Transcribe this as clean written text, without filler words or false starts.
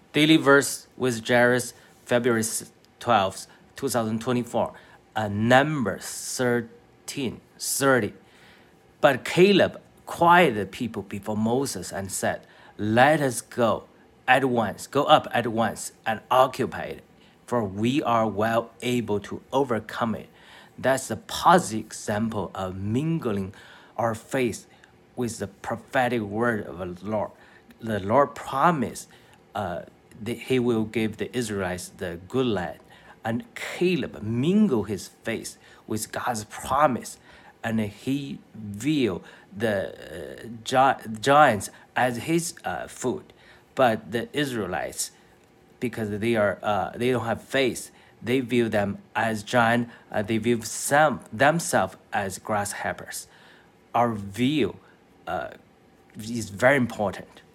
Daily verse with Jairus, February 12th, 2024. Numbers 13:30. But Caleb quieted the people before Moses and said, "Let us go up at once and occupy it, for we are well able to overcome it." That's a positive example of mingling our faith with the prophetic word of the Lord. The Lord promised that he will give the Israelites the good land. And Caleb mingled his faith with God's promise, and he viewed the giants as his food. But the Israelites, because they don't have faith, they view them as giant. They view themselves as grasshoppers. Our view is very important.